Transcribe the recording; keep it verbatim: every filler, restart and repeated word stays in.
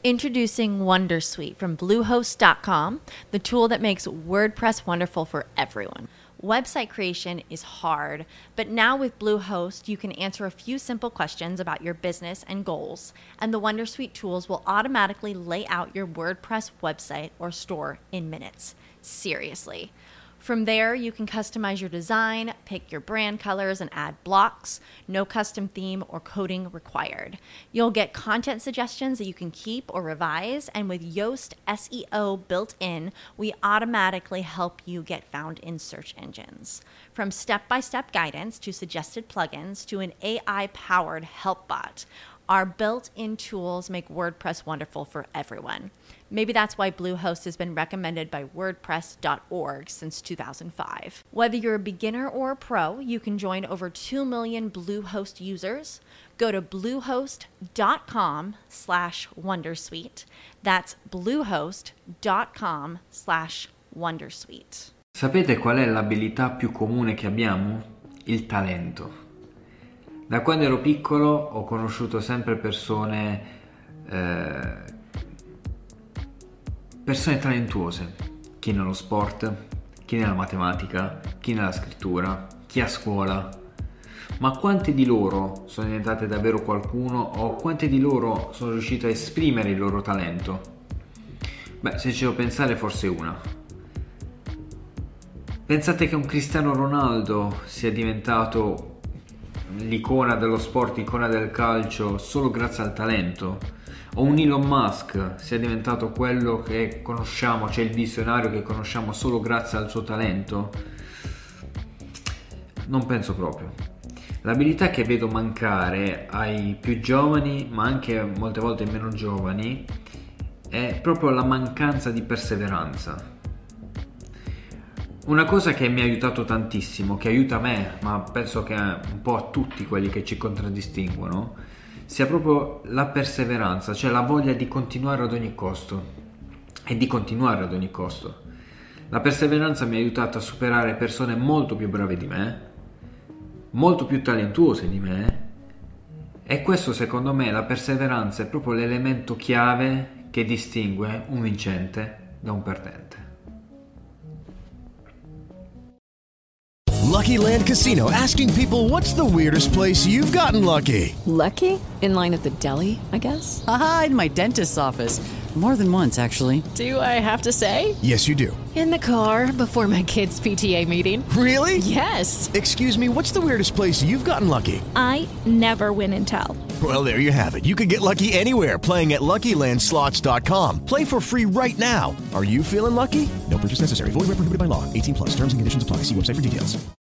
Introducing Wondersuite from Bluehost dot com, the tool that makes WordPress wonderful for everyone. Website creation is hard, but now with Bluehost, you can answer a few simple questions about your business and goals, and the Wondersuite tools will automatically lay out your WordPress website or store in minutes. Seriously. From there, you can customize your design, pick your brand colors, and add blocks. No custom theme or coding required. You'll get content suggestions that you can keep or revise, and with Yoast S E O built in, we automatically help you get found in search engines. From step-by-step guidance to suggested plugins to an A I-powered help bot, our built-in tools make WordPress wonderful for everyone. Maybe that's why Bluehost has been recommended by WordPress dot org since two thousand five. Whether you're a beginner or a pro, you can join over two million Bluehost users. Go to bluehost dot com slash wondersuite. That's bluehost dot com slash wondersuite. Sapete qual è l'abilità più comune che abbiamo? Il talento. Da quando ero piccolo ho conosciuto sempre persone, eh, persone talentuose, chi nello sport, chi nella matematica, chi nella scrittura, chi a scuola. Ma quante di loro sono diventate davvero qualcuno o quante di loro sono riuscite a esprimere il loro talento? Beh, se ci devo pensare, forse una. Pensate che un Cristiano Ronaldo sia diventato l'icona dello sport, l'icona del calcio solo grazie al talento, o un Elon Musk sia diventato quello che conosciamo, cioè il visionario che conosciamo solo grazie al suo talento? Non penso proprio. L'abilità che vedo mancare ai più giovani, ma anche molte volte ai meno giovani, è proprio la mancanza di perseveranza. Una cosa che mi ha aiutato tantissimo, che aiuta me, ma penso che un po' a tutti quelli che ci contraddistinguono, sia proprio la perseveranza, cioè la voglia di continuare ad ogni costo e di continuare ad ogni costo. La perseveranza mi ha aiutato a superare persone molto più brave di me, molto più talentuose di me, e questo, secondo me, la perseveranza è proprio l'elemento chiave che distingue un vincente da un perdente. Lucky Land Casino, asking people, what's the weirdest place you've gotten lucky? Lucky? In line at the deli, I guess? Aha, in my dentist's office. More than once, actually. Do I have to say? Yes, you do. In the car before my kids' P T A meeting. Really? Yes. Excuse me, what's the weirdest place you've gotten lucky? I never win and tell. Well, there you have it. You can get lucky anywhere, playing at lucky land slots dot com. Play for free right now. Are you feeling lucky? No purchase necessary. Void where prohibited by law. eighteen plus. Terms and conditions apply. See website for details.